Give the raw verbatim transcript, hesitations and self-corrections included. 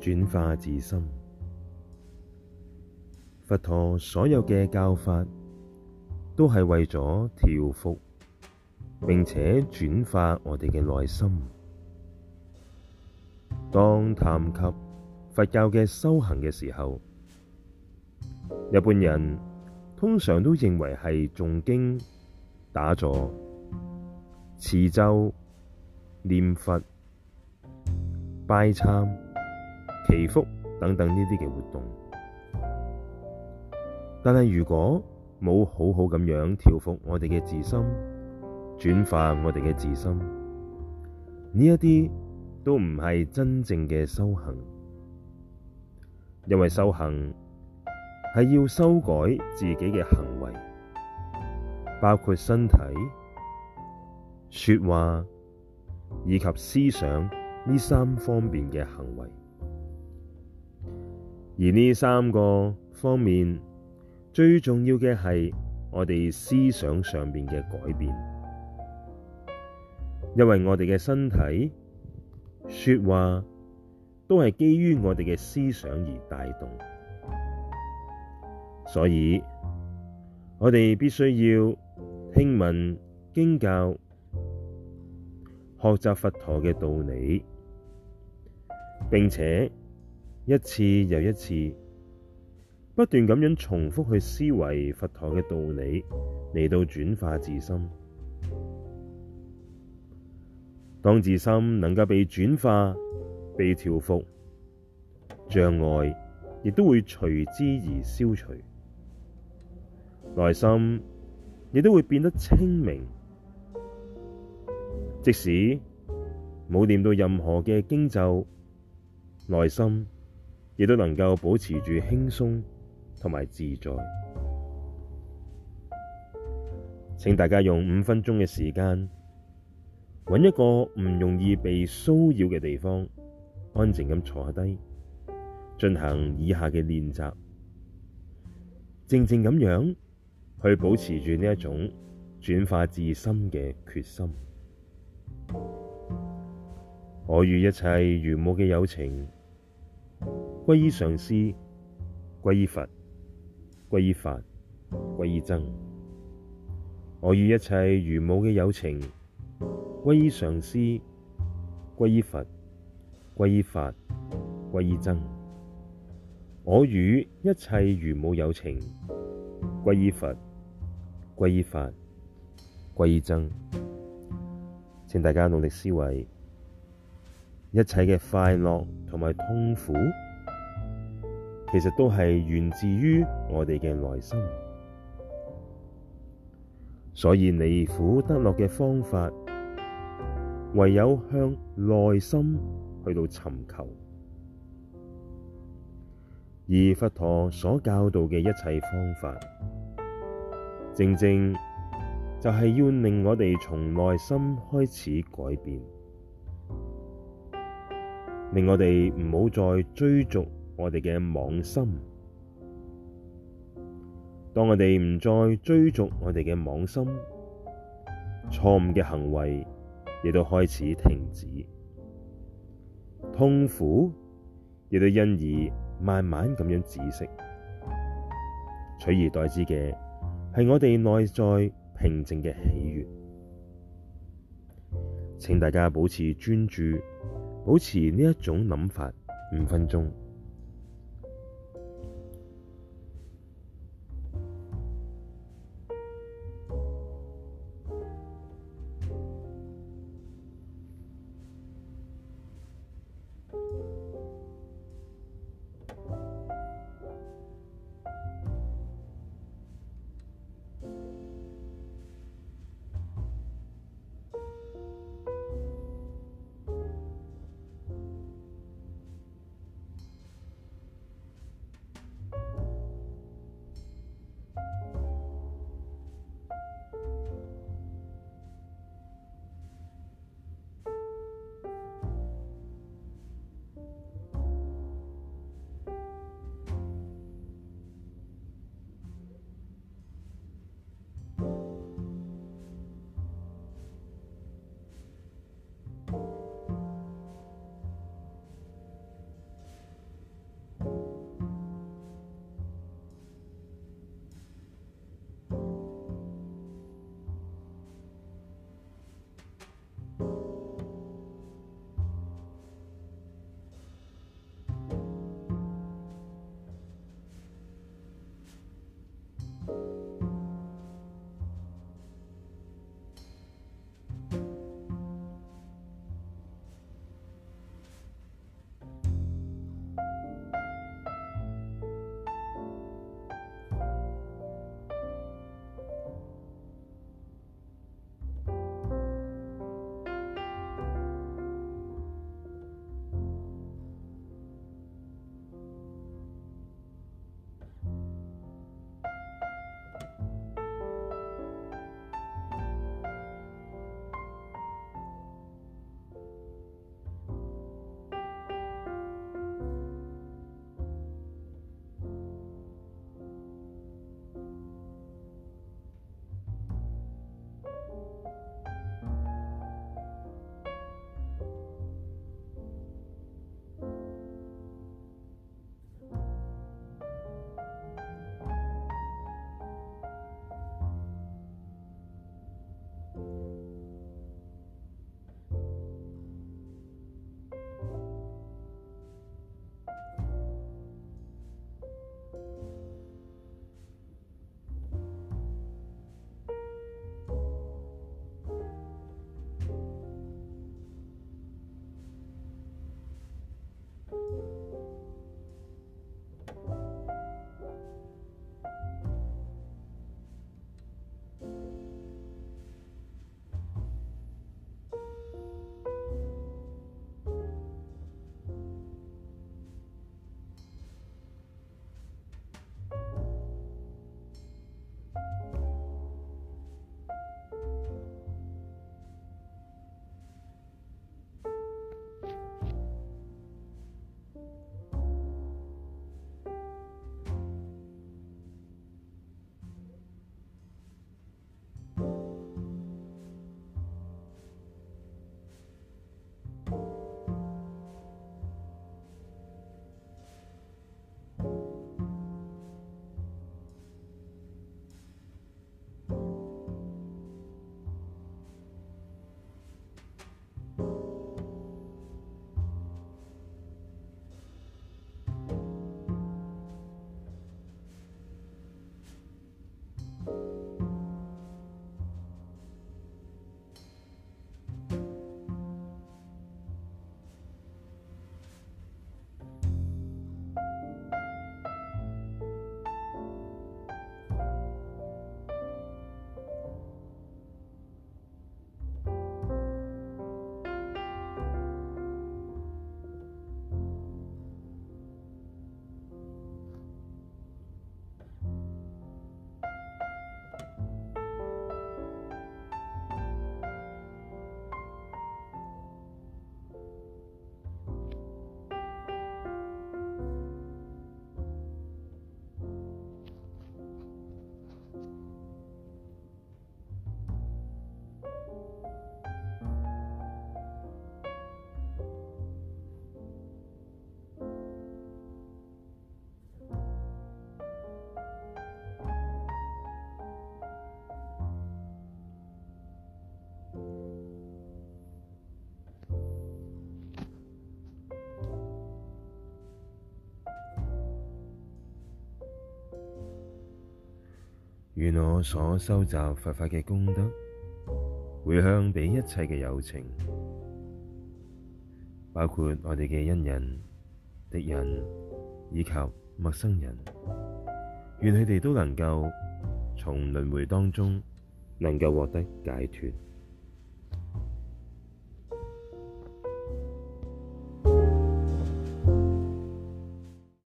轉化自心。佛陀所有嘅教法都係為咗調伏並且轉化我哋嘅內心。當談及佛教嘅修行嘅時候，一般人通常都認為係誦經、打坐、持咒、念佛、拜懺、祈福等等呢啲嘅活動。但係如果冇好好咁樣調伏我哋嘅自心，轉化我哋嘅自心，呢一啲都唔係真正嘅修行。因為修行係要修改自己嘅行為，包括身體、說話以及思想呢三方面嘅行為。而呢三個方面最重要嘅係我哋思想上面嘅改變，因為我哋嘅身體、說話都係基於我哋嘅思想而帶動，所以我哋必須要聽聞經教，學習佛陀嘅道理，並且一次又一次不斷咁樣重複去思維佛陀嘅道理，嚟到轉化自心。當自心能夠被轉化、被調伏，障礙亦都會隨之而消除，內心亦都會變得清明。即使冇念到任何嘅經咒，內心亦都能夠保持住輕鬆同埋自在。請大家用五分鐘嘅時間，揾一個唔容易被騷擾嘅地方，安靜咁坐下低，進行以下嘅練習，靜靜咁樣去保持住呢一種轉化自心嘅決心。我與一切如母嘅有情歸依上師，歸依佛，歸依法，歸依僧。我與一切如母嘅有情歸依上師，歸依佛，歸依法，歸依僧。我與一切如母有情歸依佛，歸依法，歸依僧。請大家努力思維，一切嘅快樂同埋痛苦，其實都係源自於我哋嘅內心。所以離苦得樂嘅方法，唯有向內心去到尋求。而佛陀所教導嘅一切方法，正正就係要令我哋從內心開始改變，令我哋唔好再追逐我哋嘅妄心。當我哋唔再追逐我哋嘅妄心，錯誤嘅行為亦都開始停止，痛苦亦都因而慢慢咁樣止息，取而代之嘅係我哋內在平靜嘅喜悅。請大家保持專注，保持呢一種諗法五分鐘。 願我所收集佛法嘅功德，回向畀一切嘅有情，包括我哋嘅恩人、敵人以及陌生人，願佢哋都能夠從輪迴當中能夠獲得解脫。